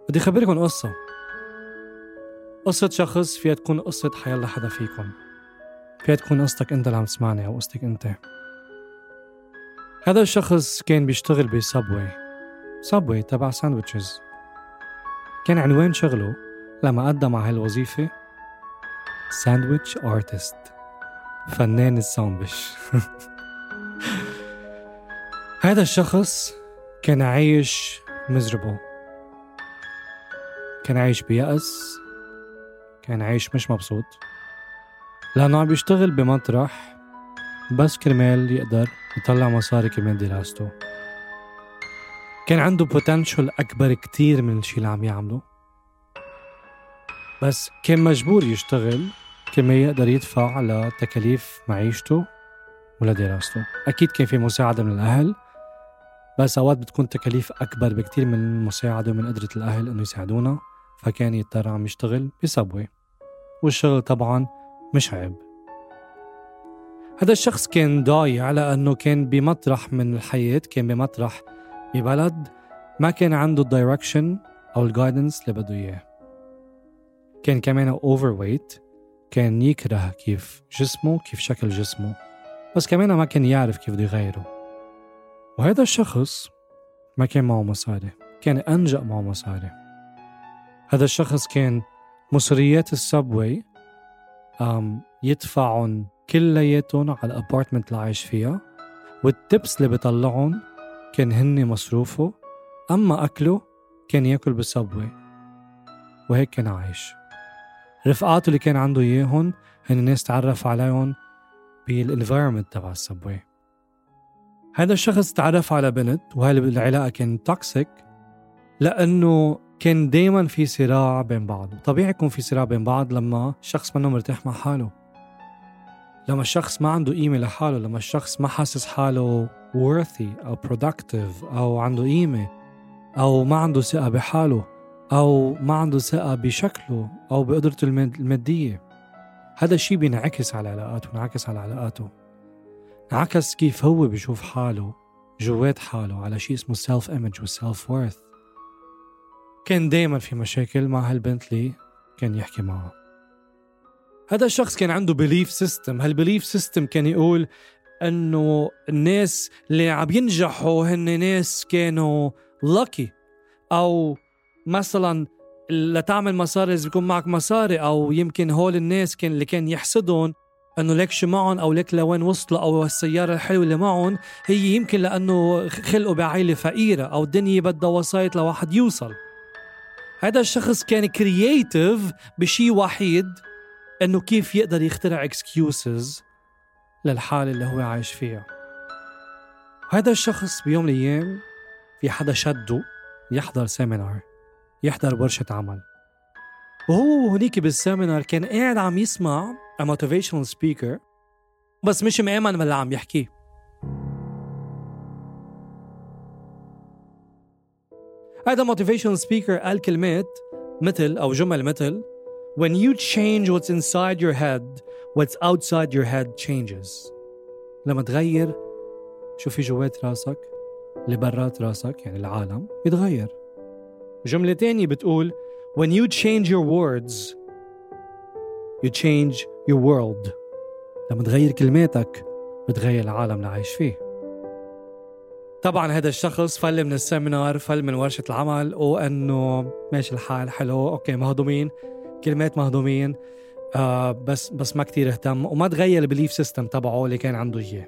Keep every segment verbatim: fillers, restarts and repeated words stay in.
بدي أخبركم قصة قصة شخص فيها تكون قصة حيالله حدا فيكم، فيها تكون قصتك أنت اللي عم تسمعني أو قصتك أنت. هذا الشخص كان بيشتغل بسابوي سابوي تبع ساندويتشز. كان عنوان شغله لما قدم على هالوظيفة ساندويتش آرتست، فنان الساندويتش. هذا الشخص كان عايش مزربو، كان عايش بيأس، كان عايش مش مبسوط، لأنه عم بيشتغل بمطرح بس كرمال يقدر يطلع مصاري كمان دراسته. كان عنده potential أكبر كتير من الشي اللي عم يعمله، بس كان مجبور يشتغل كما يقدر يدفع على تكاليف معيشته ولا دراسته. أكيد كان في مساعدة من الأهل، بس أوقات بتكون تكاليف أكبر بكتير من المساعدة ومن قدرة الأهل إنه يساعدونا، فكان يضطر عم يشتغل بسابوي، والشغل طبعا مش عيب. هذا الشخص كان ضايع لأنه كان بمطرح من الحياة، كان بمطرح ببلد ما كان عنده الدايركشن أو الجايدنس اللي بده إياه. كان كمان أوفر ويت، كان يكره كيف جسمه، كيف شكل جسمه، بس كمان ما كان يعرف كيف بده يغيره. وهذا الشخص ما كان معه مصاري، كان أنجأ معه مصاري. هذا الشخص كان مصريات السبوي أم يدفعون كلياتهم على الأبارتمنت اللي عايش فيها، والتبس اللي بيطلعون كان هني مصروفه، أما أكله كان يأكل بالسبوي، وهيك كان عايش. رفقاته اللي كان عنده إياهن هن الناس تعرف عليهم بالانفايرمنت تبع السبوي. هذا الشخص تعرف على بنت، وهاي العلاقة كان توكسيك لأنه كان دايما في صراع بين بعض. طبيعي يكون في صراع بين بعض لما الشخص منه مرتاح مع حاله، لما الشخص ما عنده قيمة لحاله، لما الشخص ما حاسس حاله worthy أو productive أو عنده قيمة، أو ما عنده ثقة بحاله، أو ما عنده ثقة بشكله أو بقدرته المادية. هذا الشيء بينعكس على علاقاته، بينعكس على علاقاته، انعكس كيف هو بيشوف حاله جوات حاله على شيء اسمه self image و self worth. كان دايما في مشاكل مع هالبنت اللي كان يحكي معها. هذا الشخص كان عنده belief system. هالبelief system كان يقول انه الناس اللي عم ينجحوا هن ناس كانوا lucky، او مثلا لتعمل مصاري لازم يكون معك مصاري، او يمكن هول الناس كان اللي كان يحسدون انه ليك شو معهم او ليك لوين وصلوا او السيارة الحلوة اللي معهم هي يمكن لانه خلقوا بعائلة فقيرة او الدنيا بدها وسايط لواحد يوصل. هذا الشخص كان كرياتيف بشي وحيد، انه كيف يقدر يخترع excuses للحالة اللي هو عايش فيها. هذا الشخص بيوم من الايام في حدا شده يحضر سيمينار، يحضر ورشة عمل، وهو هنيك بالسيمينار كان قاعد عم يسمع a motivational speaker بس مش مآمن باللي عم يحكيه. هذا motivational speaker قال كلمات مثل أو جمل مثل when you change what's inside your head what's outside your head changes. لما تغير شو في جوات راسك اللي برات راسك يعني العالم بيتغير. جملة تانية بتقول when you change your words you change your world. لما تغير كلماتك بتغير العالم اللي عايش فيه. طبعا هذا الشخص فل من السيمينار، فل من ورشة العمل، وأنه ماشي الحال حلو أوكي مهضومين كلمات مهضومين، آه بس بس ما كتير اهتم وما تغير البليف سيستم تبعه اللي كان عنده إياه.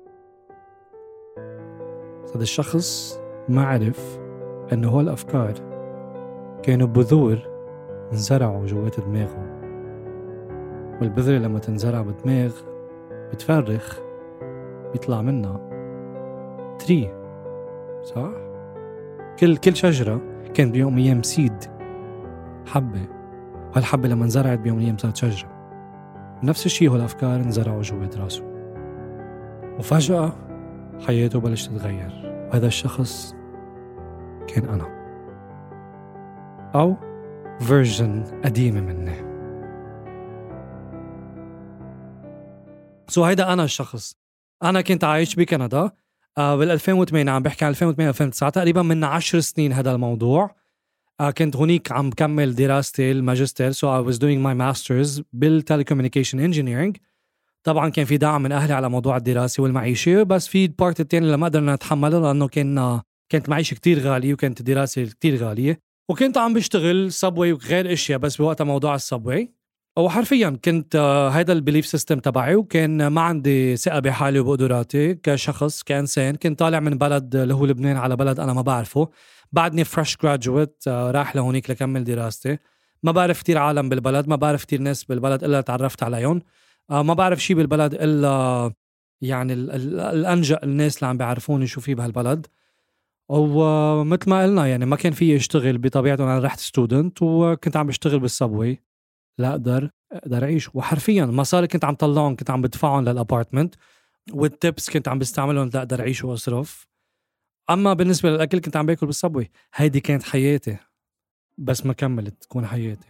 هذا الشخص ما عرف أنه هو الأفكار كانوا بذور انزرعوا جوات دماغه، والبذرة لما تنزرع بدماغ بتفرخ بيطلع منها تري، صح؟ كل كل شجرة كان بيوم أيام سيد حبة، وهالحبة لما انزرعت بيوم أيام صارت شجرة. نفس الشيء هو الأفكار انزرعوا جوات راسه، وفجأة حياته بلش تتغير. وهذا الشخص كان أنا، أو فيرجن قديمة مني. سو هيدا أنا الشخص. أنا كنت عايش بكندا آه بال ألفين وثمانية، عم بحكي عن ألفين وثمانية ألفين وتسعة، تقريبا من عشر سنين هذا الموضوع. آه كنت هونيك عم بكمل دراستي الماجستير. so I was doing my masters بالtelecommunication engineering. طبعا كان في دعم من أهلي على موضوع الدراسة والمعيشة، بس في البارت التاني اللي ما قدرنا نتحمله لأنه كان كانت معيشة كتير غالية وكانت الدراسة كتير غالية، وكنت عم بشتغل سبوي وغير اشياء بس بوقتها موضوع السبوي. وحرفيا كنت هيدا البليف سيستم تبعي، وكان ما عندي ثقة بحالي وبقدراتي كشخص كإنسان. كنت طالع من بلد اللي هو لبنان على بلد أنا ما بعرفه، بعدني فريش جراجويت راح لهونيك لكمل دراستي. ما بعرف كتير عالم بالبلد، ما بعرف كتير ناس بالبلد إلا تعرفت عليهم، ما بعرف شي بالبلد إلا يعني الأنجأ الناس اللي عم بيعرفوني شو فيه بهالبلد. ومثل ما قلنا يعني ما كان في اشتغل بطبيعته. أنا رحت ستودنت وكنت عم بشتغل بالسبوي لا أقدر أقدر أعيش. وحرفيا مصاري كنت عم طلعهم كنت عم بدفعهم للأبارتمنت، والتيبس كنت عم بستعملهم لا أقدر أعيش وأصرف. أما بالنسبة للأكل كنت عم باكل بالسبوي. هيدي كانت حياتي، بس ما كملت تكون حياتي.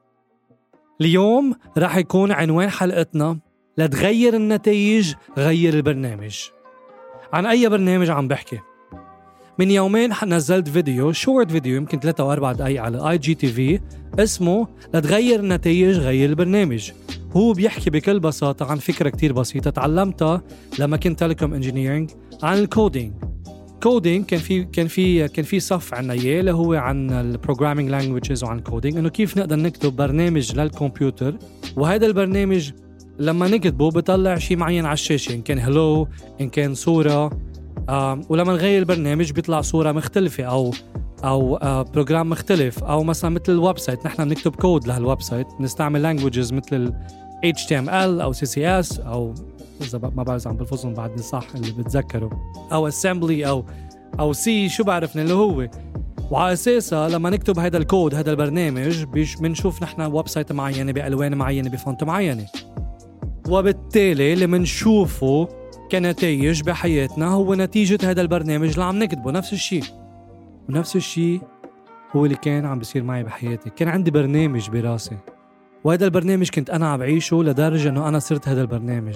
اليوم راح يكون عنوان حلقتنا لتغير النتائج غير البرنامج. عن أي برنامج عم بحكي؟ من يومين نزلت فيديو شورت فيديو يمكن ثلاثة أو أربعة دقايق على آي جي تي في اسمه لتغير النتائج غير البرنامج. هو بيحكي بكل بساطة عن فكرة كتير بسيطة تعلمتها لما كنت تيليكوم انجينيرينج عن الكودينج. كودينج كان في كان في كان في صف عنا اياه اللي هو عن البروجرامينج لانجويجز وعن كودينج، انه كيف نقدر نكتب برنامج للكمبيوتر، وهذا البرنامج لما نكتبه بيطلع شيء معين على الشاشة، إن كان هلو إن كان صورة، آه ولما نغير البرنامج بيطلع صورة مختلفة أو أو آه بروجرام مختلف، أو مثلا مثل الويب سايت نحن بنكتب كود لهالويب سايت نستعمل لانجويجز مثل ال إتش تي إم إل أو سي سي إس أو إذا ما بعرف عم بلفظهم بعدني صح اللي بتذكره، أو assembly أو أو سي شو بعرفنا اللي هو. وعلى أساسها لما نكتب هذا الكود هذا البرنامج بيش بنشوف نحن ويب سايت معينة بألوان معينة بفونت معينة، وبالتالي اللي منشوفه كنتائج بحياتنا هو نتيجة هذا البرنامج اللي عم نكتبه. نفس الشيء ونفس الشيء هو اللي كان عم بيصير معي بحياتي. كان عندي برنامج براسي، وهذا البرنامج كنت أنا عم بعيشه لدرجة أنه أنا صرت هذا البرنامج.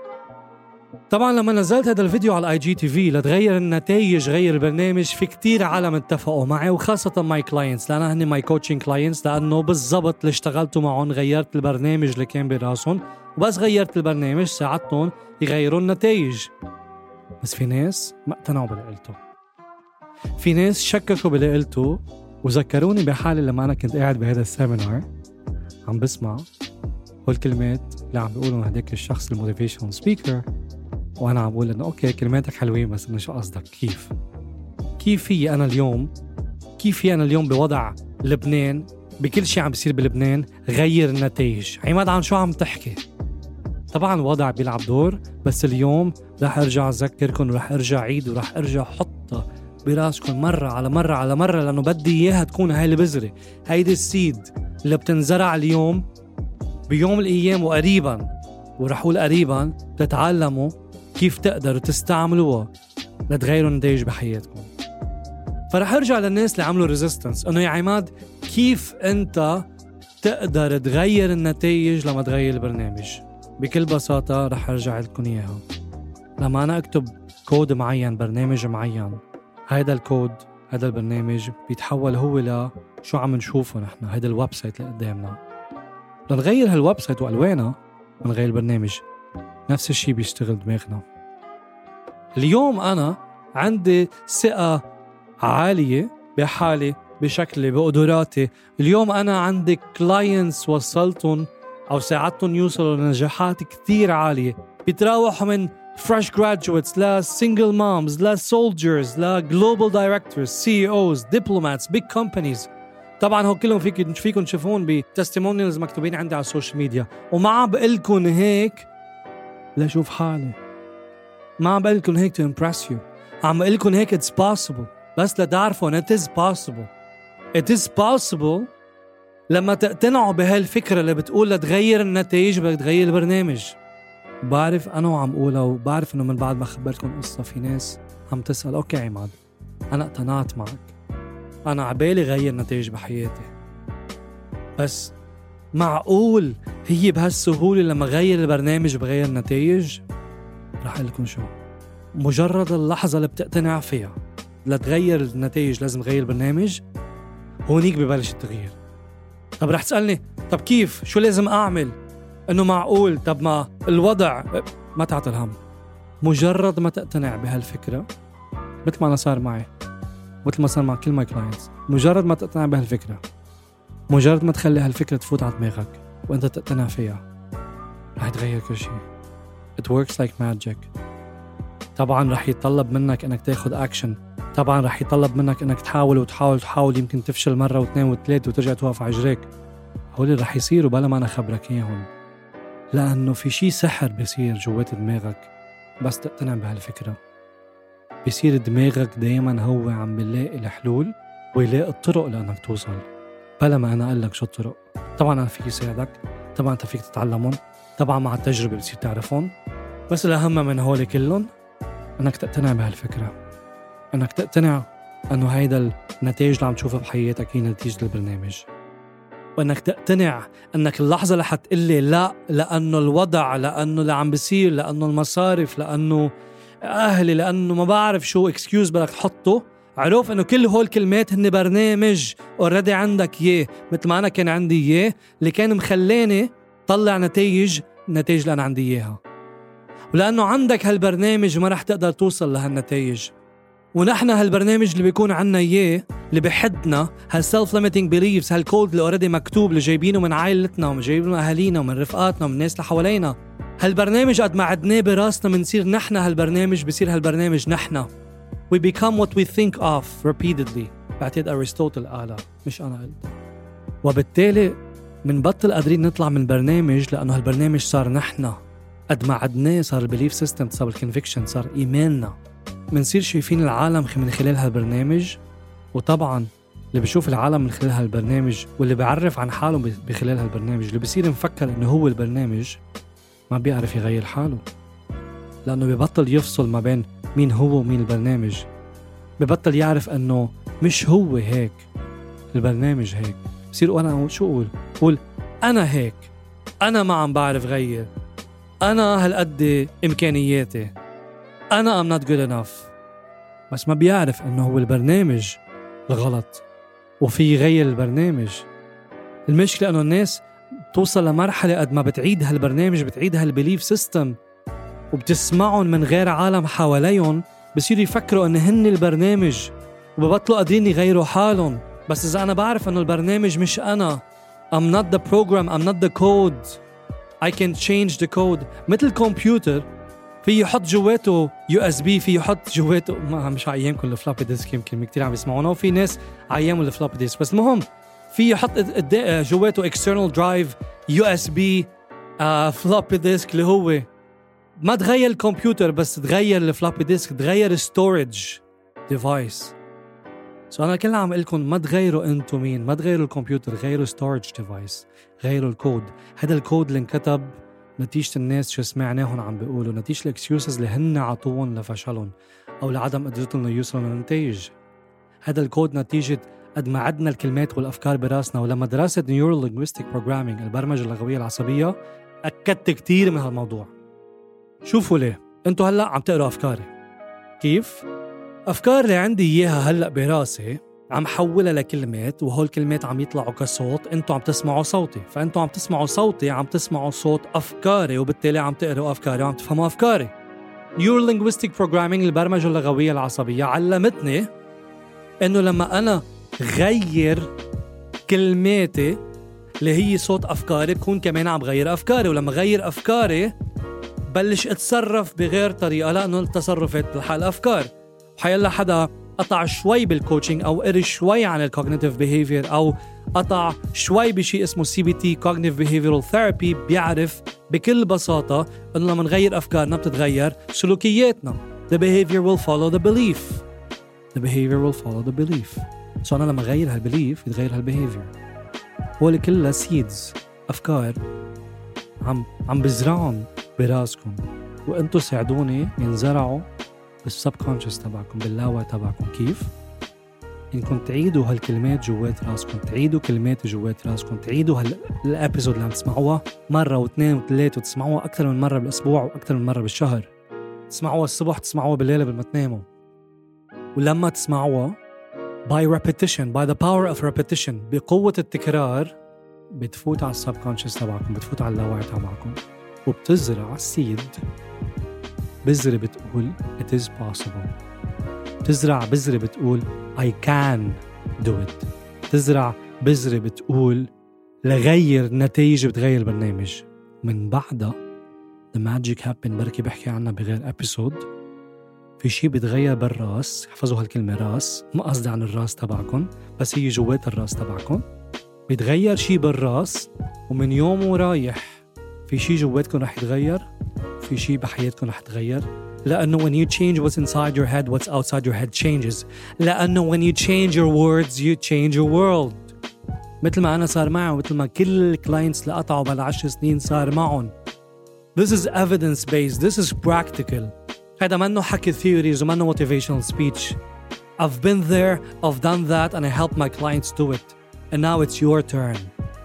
طبعا لما نزلت هذا الفيديو على اي جي تي في لتغير النتائج غير البرنامج، في كتير عالم اتفقوا معي، وخاصة ماي كلاينتس لأن هني ماي كوتشنج كلاينتس، لأنه بالضبط اللي اشتغلتوا معهم غيرت البرنامج اللي كان براسهم، وبس غيرت البرنامج ساعدتهم يغيروا النتائج. بس في ناس ما اقتنعوا باللي قلته، في ناس شككوا باللي قلته، وذكروني بحالي لما أنا كنت قاعد بهذا السيمينار عم بسمع والكلمات اللي عم بيقولوا هداك الشخص الموتيفيشنال سبيكر، وأنا عم بقول إنه أوكي كلماتك حلوين بس إنه شو قصدك؟ كيف كيف في أنا اليوم كيف في أنا اليوم بوضع لبنان بكل شيء عم بيصير بلبنان غير النتائج؟ عماد عن شو عم تحكي؟ طبعا الوضع بيلعب دور، بس اليوم رح أرجع أذكركم ورح أرجع عيد ورح أرجع حطها براسكم مرة على مرة على مرة، لأنه بدي إياها تكون هاي البذرة، هيدي السيد اللي بتنزرع اليوم بيوم الأيام وقريبا، ورح أقول قريبا تتعلموا كيف تقدروا تستعملوها لتغيروا النتائج بحياتكم. فرح أرجع للناس اللي عملوا ريزيستنس إنه يا عماد كيف أنت تقدر تغير النتائج لما تغير البرنامج؟ بكل بساطة رح أرجع لكم إياها. لما أنا أكتب كود معين برنامج معين، هيدا الكود هيدا البرنامج بيتحول هو لشو عم نشوفه نحن، هيدا الويب سايت اللي قدامنا. لنغير هالويب سايت وألوانه ونغير البرنامج، نفس الشيء بيشتغل دماغنا. اليوم أنا عندي ثقة عالية بحالي بشكلي بقدراتي. اليوم أنا عندي كلاينتس وصلتهم أو ساعدتهم يوصلوا لنجاحات كتير عالية، بيتراوحوا من fresh graduates لا single moms لا soldiers لا global directors سي إي أوز diplomats big companies. طبعا هو كلهم فيك فيكم تشوفون بتستيمونيالز مكتوبين عندي على السوشيال ميديا، وما عم بقلكن هيك لشوف حالي، ما عم بقلكن هيك to impress you، عم بقلكن هيك it's possible بس لتعرفوا it is possible. it is possible لما تقتنعوا بهالفكرة اللي بتقول لتغير النتائج بدك تغير البرنامج. بعرف أنا وعم قولها، وبعرف إنه من بعد ما خبرتكم قصة في ناس عم تسأل أوكي عماد أنا اقتنعت معك، أنا عبالي غير نتائج بحياتي، بس معقول هي بهالسهولة لما غير البرنامج بغير النتائج؟ رح أقول لكم شو، مجرد اللحظة اللي بتقتنع فيها لتغير النتائج لازم غير البرنامج، هونيك ببلش التغيير. طب رح تسألني طب كيف؟ شو لازم أعمل؟ إنه معقول؟ طب ما الوضع ما تعطل هم. مجرد ما تقتنع بهالفكرة، مثل ما أنا صار معي، مثل ما صار مع كل ماي كلاينتس، مجرد ما تقتنع بهالفكرة، مجرد ما تخلي هالفكرة تفوت على دماغك وأنت تقتنع فيها، رح يتغير كل شيء. It works like magic. طبعا رح يتطلب منك أنك تاخد أكشن، طبعا رح يتطلب منك أنك تحاول وتحاول وتحاول، يمكن تفشل مرة واثنين وثلاثة وترجع توقف على رجليك. هولي رح يصيروا بلا ما أنا خبرك إياهم، لأنه في شي سحر بيصير جوات دماغك بس تقتنع بهالفكرة. بيصير دماغك دايما هو عم بيلاقي الحلول ويلاقي الطرق لأنك توصل، بلا ما أنا أقلك شو الطرق. طبعا أنا فيك يساعدك، طبعا أنت فيك تتعلمهم، طبعا مع التجربة بتصير تعرفهم، بس الأهم من هولي كلهم أنك تقتنع بهالفكرة، أنك تقتنع أنه هيدا النتائج اللي عم تشوفها بحياتك هي نتيجة البرنامج، وأنك تقتنع أنك اللحظة اللي حتقلي لا لأنه الوضع، لأنه اللي عم بيصير، لأنه المصارف، لأنه أهلي، لأنه ما بعرف شو اكسكيوز بدك تحطه، عرف أنه كل هول كلمات هن برنامج اوريدي عندك إياه، مثل ما أنا كان عندي إياه اللي كان مخلاني طلع نتائج النتائج اللي أنا عندي إياها. ولأنه عندك هالبرنامج ما رح تقدر توصل لهالنتائج. ونحن هالبرنامج اللي بيكون عنا إياه اللي بحدنا، هالسلف ليميتنج بيليفز، هالكود اللي اوريدي مكتوب اللي جايبينه من عائلتنا ومن جايبينه من أهالينا ومن رفقاتنا ومن الناس اللي حوالينا، هالبرنامج قد ما عدناه براسنا منصير نحن هالبرنامج، بصير هالبرنامج نحن. We become what we think of repeatedly. بعتقد أرسطوطل قالها مش أنا قلت. وبالتالي منبطل قادرين نطلع من برنامج لأنه هالبرنامج صار نحن. قد ما عدناه صار البليف سيستم، صار الكونفكشن، صار إيماننا. منصير شايفين العالم من خلال هالبرنامج. وطبعا اللي بيشوف العالم من خلال هالبرنامج واللي بيعرف عن حاله بخلال هالبرنامج، اللي بيصير مفكر إنه هو البرنامج، ما بيعرف يغير حاله، لأنه بيبطل يفصل ما بين مين هو ومين البرنامج. ببطل يعرف أنه مش هو هيك، البرنامج هيك. بصير أنا شو أقول؟ أقول أنا هيك، أنا ما عم بعرف غير، أنا هالقد إمكانياتي، أنا I'm not good enough. بس ما بيعرف أنه هو البرنامج الغلط وفي يغير البرنامج. المشكلة أنه الناس توصل لمرحلة قد ما بتعيد هالبرنامج، بتعيد هالبليف سيستم وبتسمعهم من غير عالم حواليهم، بصيروا يفكروا أن هن البرنامج وببطلوا قادرين يغيروا حالهم. بس إذا أنا بعرف أنه البرنامج مش أنا، I'm not the program, I'm not the code, I can change the code. مثل الكمبيوتر في يحط جواته يو اس بي، في يحط جواته، ما مش عيامكم الفلوبي ديسك، يمكن كتير عم يسمعونا وفي ناس عياموا الفلوبي ديسك، بس المهم في يحط جواته external drive يو اس بي فلوبي ديسك، اللي هو ما تغير الكمبيوتر بس تغير الفلوبي ديسك، تغير storage device. سو أنا كلنا عم قلكم ما تغيروا أنتوا مين، ما تغيروا الكمبيوتر، غيروا storage device، غيروا الكود. هذا الكود اللي انكتب نتيجة الناس شو سمعناهم عم بيقولوا، نتيجة الاكسيوسز اللي هن عطوهم لفشلهم أو لعدم قدرتهم يوصلوا للنتائج. هذا الكود نتيجة قد ما عدنا الكلمات والأفكار براسنا. ولما درست Neuro Linguistic Programming، البرمجة اللغوية العصبية، أكدت كتير من هالموضوع. شوفوا ليه انتوا هلأ عم تقروا أفكاري كيف؟ أفكار اللي عندي إياها هلأ براسي عم حولها لكلمات، وهول الكلمات عم يطلعوا كصوت، انتوا عم تسمعوا صوتي، فانتوا عم تسمعوا صوتي عم تسمعوا صوت أفكاري، وبالتالي عم تقروا أفكاري وعم تفهموا أفكاري. Neuro Linguistic Programming، البرمجة اللغوية العصبية، علمتني إنه لما أنا غير كلماتي اللي هي صوت أفكاري، بكون كمان عم غير أفكاري، ولما غير أفكاري بلش اتصرف بغير طريقة، لأنه التصرفات بتلحق الأفكار. وحيلا حدا قطع شوي بالكوتشنج أو قري شوي عن الكوغنيتيف بيهيفير أو قطع شوي بشيء اسمه سي بي تي Cognitive Behavioral Therapy، بيعرف بكل بساطة إنه لما نغير أفكارنا بتتغير سلوكياتنا. The behavior will follow the belief. The behavior will follow the belief. سو أنا لما غير هالبليف يتغير هالبيهيفير. هو اللي كلها سيدز، أفكار عم عم بزرعهم براسكم، وانتوا ساعدوني ينزرعوا بالسبكونشس تبعكم، باللاوعي تبعكم. كيف؟ انكم تعيدوا هالكلمات جوات راسكم، تعيدوا كلمات جوات راسكم، تعيدوا هالابيزود اللي عم تسمعوها مرة واثنين وثلاثة، وتسمعوها أكثر من مرة بالأسبوع وأكثر من مرة بالشهر. تسمعوها الصبح، تسمعوها بالليل قبل ما تناموا. ولما تسمعوها by repetition, by the power of repetition. بقوة التكرار بتفوت على السبكونشس تبعكم، بتفوت على اللاوعي تبعكم وبتزرع السيد. بذرة بتقول it is possible. تزرع بذرة بتقول I can do it. تزرع بذرة بتقول لغير نتائج بتغير برنامج. من بعدها the magic happen، بركي بحكي عنها بغير episode. في شي بتغير بالراس، حفظوا هالكلمة راس، ما قصدي عن الراس تبعكم بس هي جوات الراس تبعكم. بتغير شي بالراس ومن يوم ورايح في شي جواتكم رح يتغير، في شي بحياتكم رح يتغير. لأنه when you change what's inside your head, what's outside your head changes. لأنه when you change your words, you change your world. مثل ما أنا صار معي ومثل ما كل الكلاينتس اللي قطعوا بالعشر سنين صار معهم. This is evidence based, this is practical. هذا منه حكي theories ومنه motivational speech. I've been there, I've done that and I helped my clients do it. And now it's your turn.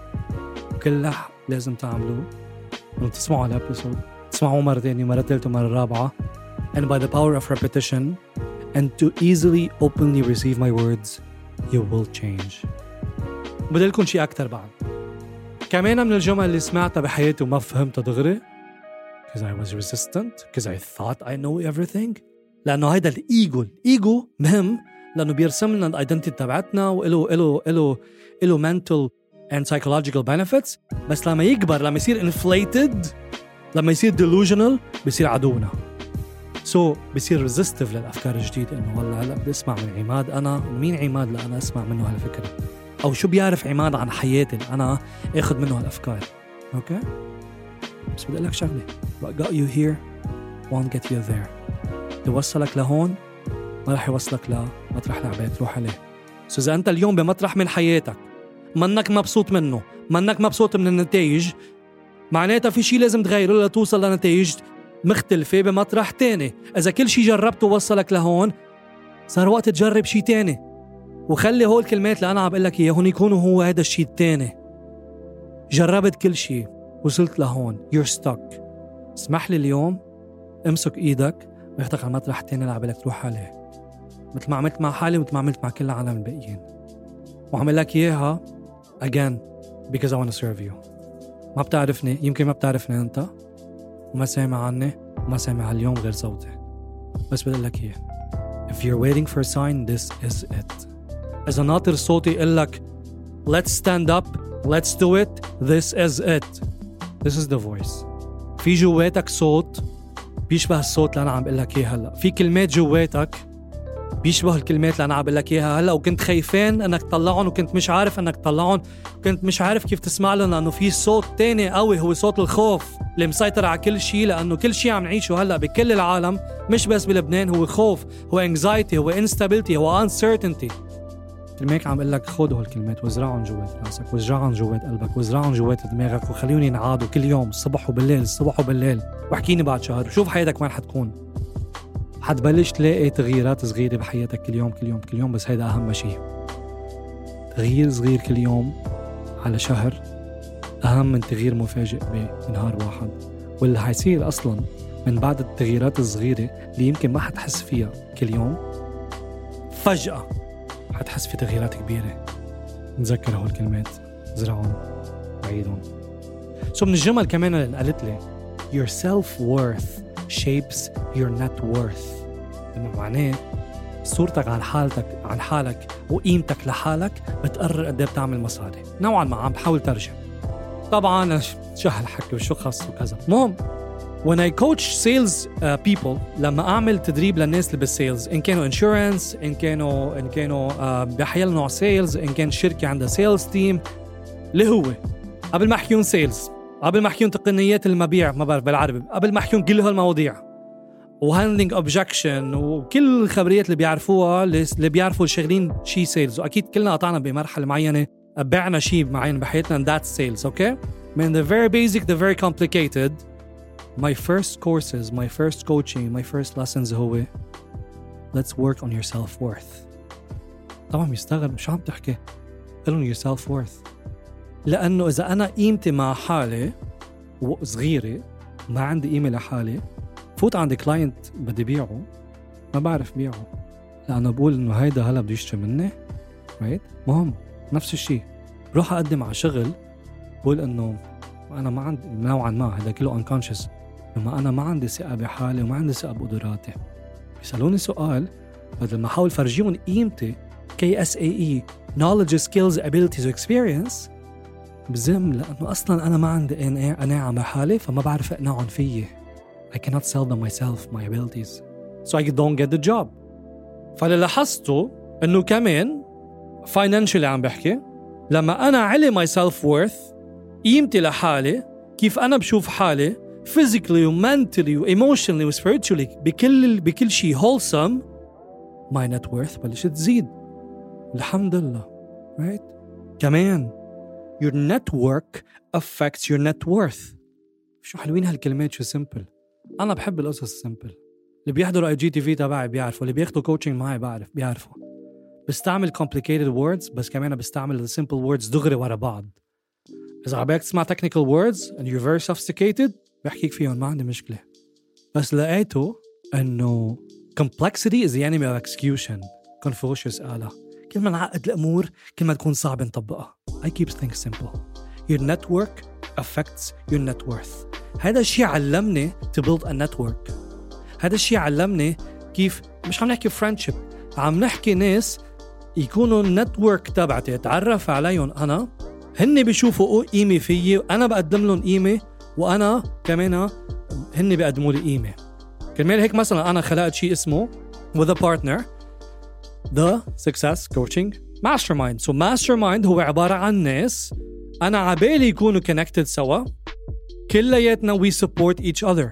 كله لازم تعملوه لما تسمعوا الابيسود، تسمعوه مرة ثانية مرة ثالثة مرة رابعة. And by the power of repetition and to easily openly receive my words, you will change. بدلكم شيء أكتر بعد. كمان من الجمل اللي سمعتها بحياتي وما فهمتها دغري because I was resistant, because I thought I know everything. لأنه هيدا الإيجو، الإيجو مهم لأنه بيرسم لنا الأيدنتي تبعتنا وإله إله إله إله mental and psychological benefits. بس لما يكبر، لما يصير inflated، لما يصير delusional، بيصير عدونا. so بيصير resistive للأفكار الجديدة. إنه والله هلأ بدي أسمع من عماد، أنا مين عماد لأنا أسمع منه هالفكرة؟ أو شو بيعرف عماد عن حياتي أنا أخذ منه هالأفكار؟ أوكي؟ بس بدي أقول لك شغلة. what got you here won't get you there. يوصلك لهون ما رح يوصلك لمطرح العباد تروح عليه. so إذا أنت اليوم بمطرح من حياتك منك مبسوط منه، منك مبسوط من النتائج، معناتها في شيء لازم تغيره لتوصل لنتائج مختلفة بمطرح تاني. إذا كل شيء جربته وصلك لهون، صار وقت تجرب شيء تاني. وخلي هول الكلمات اللي أنا عم بقول لك إياهم يكونوا هو هذا الشيء التاني. جربت كل شيء، وصلت لهون، you're stuck. اسمح لي اليوم امسك إيدك وياخدك على مطرح تاني اللي عم بقول لك تروح عليه، مثل ما عملت مع حالي ومثل ما عملت مع كل العالم الباقيين. وعمل لك إياها again because I want to serve you. ما بتعرفني، يمكن ما بتعرفني أنت وما سامع عني وما سامع اليوم غير صوتي، بس بدي لك إياه. If you're waiting for a sign, this is it. إذا ناطر صوتي يقول لك let's stand up, let's do it, this is it. This is the voice. في جواتك صوت بيشبه الصوت اللي أنا عم بقول لك إياه هلا. في كلمات جواتك بيشبه الكلمات اللي أنا عم بقول لك إياها هلا، وكنت خايفين إنك تطلعهم وكنت مش عارف إنك تطلعهم، كنت مش عارف كيف تسمع لهم، لأنه في صوت تاني قوي هو صوت الخوف اللي مسيطر على كل شيء. لأنه كل شيء عم نعيشه هلا بكل العالم مش بس بلبنان هو خوف، هو anxiety، هو instability، هو uncertainty. الميك عم بقول لك خذوا هالكلمات وزرعهم جوات راسك، وزرعهم جوات قلبك، وزرعهم جوات دماغك، وخليهم ينعادوا كل يوم الصبح وبالليل، الصبح وبالليل. واحكيني بعد شهر وشوف حياتك وين حتكون. حتبلش تلاقي تغييرات صغيرة بحياتك كل يوم كل يوم كل يوم. بس هيدا أهم شيء، تغيير صغير كل يوم على شهر أهم من تغيير مفاجئ بنهار واحد. واللي حيصير أصلا من بعد التغييرات الصغيرة اللي يمكن ما حتحس فيها كل يوم، فجأة حتحس في تغييرات كبيرة. نتذكر هول الكلمات، زرعهم وعيدهم. سو من الجمل كمان اللي قالت لي your self-worth shapes your net worth. إنه معناه صورتك عن حالتك عن حالك وقيمتك لحالك بتقرر قد ايه بتعمل مصاري. نوعا ما عم بحاول ترجم طبعا شو هالحكي وشو خص وكذا. المهم when I coach sales uh, people، لما أعمل تدريب للناس اللي بالسيلز، إن كانوا insurance، إن كانوا إن كانوا uh, بحيال نوع سيلز، إن كان شركة عندها سيلز تيم، اللي هو قبل ما أحكيون سيلز، قبل ما أحكيون تقنيات المبيع، ما بعرف بالعربي، قبل ما أحكيون كل هالمواضيع وهاندلينج اوبجكشن وكل الخبريات اللي بيعرفوها اللي بيعرفوا الشغلين شي سيلز. وأكيد كلنا قطعنا بمرحلة معينة بعنا شي معين بحياتنا and that's sales. okay من the very basic the very complicated. my first courses, my first coaching, my first lessons هو let's work on your self-worth. طبعا يستغرب شو عم تحكي، قلن your self-worth، لأنه إذا أنا قيمتي مع حالي صغيرة، ما عندي قيمة لحالي، فوت عندي كلاينت بدي بيعه ما بعرف بيعه، لأنه بقول إنه هيدا هلا بده يشتري مني right؟ مهم نفس الشيء. بروح أقدم على شغل بقول إنه أنا ما عندي نوعا ما هذا كله unconscious، بما أنا ما عندي ثقة بحالي وما عندي ثقة بقدراتي. بيسألوني سؤال بدل ما أحاول فرجيهم قيمتي كي إس إيه إي knowledge, skills, abilities و experience، بزم لأنه أصلاً أنا ما عندي قناعة بحالي فما بعرف أقنعهم فيي. I cannot sell them myself my abilities so I don't get the job. فاللي لاحظته إنه كمان financially عم بحكي، لما أنا علي my self worth قيمتي لحالي كيف أنا بشوف حالي physically و mentally و emotionally و spiritually بكل بكل شيء wholesome، my net worth بلشت تزيد الحمد لله. right؟ كمان your network affects your net worth. شو حلوين هالكلمات، شو simple. أنا بحب القصص simple. اللي بيحضروا اي جي تي في تبعي بيعرفوا، اللي بياخدوا coaching معي بعرف بيعرفوا. بستعمل complicated words بس كمان بستعمل the simple words دغري ورا بعض. إذا عبالك تسمع technical words and you're very sophisticated بحكيك فيهم ما عندي مشكلة. بس لقيته إنه complexity is the enemy of execution. Confucius قالها. كل ما نعقد الأمور كل ما تكون صعب نطبقها. I keep things simple. Your network affects your net worth. هذا الشيء علمني to build a network. هذا الشيء علمني كيف مش عم نحكي friendship، عم نحكي ناس يكونوا النتورك تبعتي اتعرف عليهم أنا، هن بيشوفوا قيمة فيي وأنا بقدم لهم قيمة، وأنا كمان هن بيقدموا لي قيمة. كرمال هيك مثلا أنا خلقت شيء اسمه with a partner the success coaching mastermind. so mastermind هو عبارة عن ناس أنا عبالي يكونوا connected سوا، كلياتنا we support each other.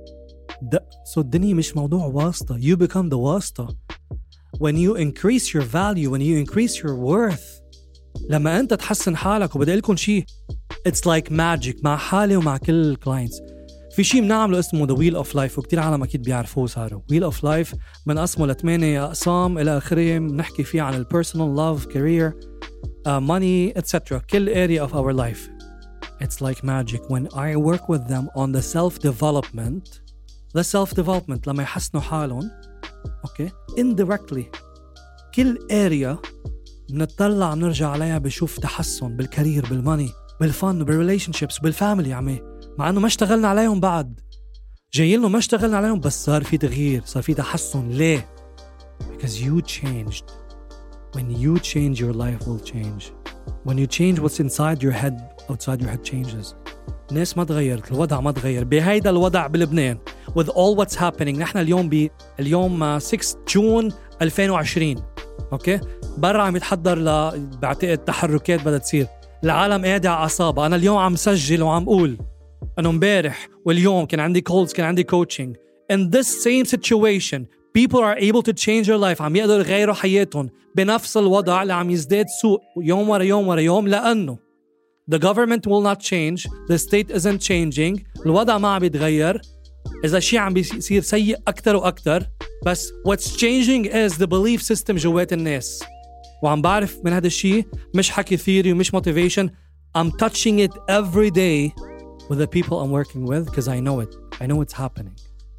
ده so الدنيا مش موضوع واسطة. you become the واسطة when you increase your value, when you increase your worth. لما أنت تحسن حالك، وبدأ لكم شيء it's like magic مع حالي ومع كل clients. في شيء بنعمله اسمه the wheel of life، وكتير عالم أكيد بيعرفوه صاروا. wheel of life من أسمه لثمانية أقسام إلى آخره، بنحكي فيه عن personal love, career, uh, money, et cetera. كل area of our life. It's like magic when I work with them on the self-development. the self-development لما يحسنوا حالهم okay indirectly كل area بنطلع بنرجع عليها بشوف تحسن بالكارير، بالماني، بالفن، بالريليشنشيبس، بالفاميلي. عمي مع انه ما اشتغلنا عليهم بعد، جايين له ما اشتغلنا عليهم، بس صار في تغيير، صار في تحسن. ليه؟ because you changed. when you change your life will change. when you change what's inside your head outside your head changes. الناس ما تغيرت، الوضع ما تغير. بهيدا الوضع بلبنان with all what's happening. نحن اليوم ب اليوم ستة جون ألفين وعشرين اوكي، برا عم يتحضر ل بعتقد تحركات بدها تصير، العالم قاعد على اعصابها. انا اليوم عم سجل وعم اقول انه امبارح واليوم كان عندي كولز، كان عندي coaching. in this same situation people are able to change their life. عم يقدروا يغيروا حياتهم بنفس الوضع اللي عم يزداد سوء يوم ورا يوم ورا يوم، لأنه the government will not change, the state isn't changing. الوضع ما عم يتغير، إذا شيء عم بيصير سيء أكتر وأكتر. بس what's changing is the belief system جوات الناس. وعم بعرف من هذا الشيء مش حكي ثيري ومش motivation. I'm touching it every day with the people I'm working with because I know it. I know it's happening.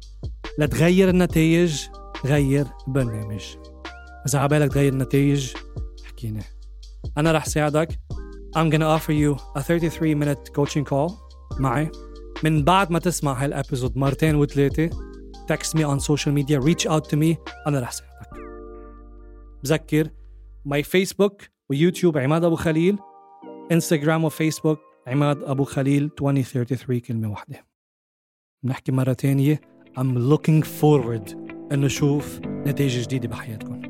لا تغير النتائج، غير برنامج. إذا عبالك تغير النتائج حكينا، أنا رح ساعدك. I'm gonna offer you a thirty-three minute coaching call معي. من بعد ما تسمع هالابيزود مرتين وثلاثة text me on social media, reach out to me. أنا رح ساعدك. بذكر my Facebook ويوتيوب عماد أبو خليل، إنستغرام وفيسبوك عماد أبو خليل عشرين ثلاثة وثلاثين كلمة واحدة. بنحكي مرة تانية. I'm looking forward إنه شوف نتائج جديدة بحياتكم.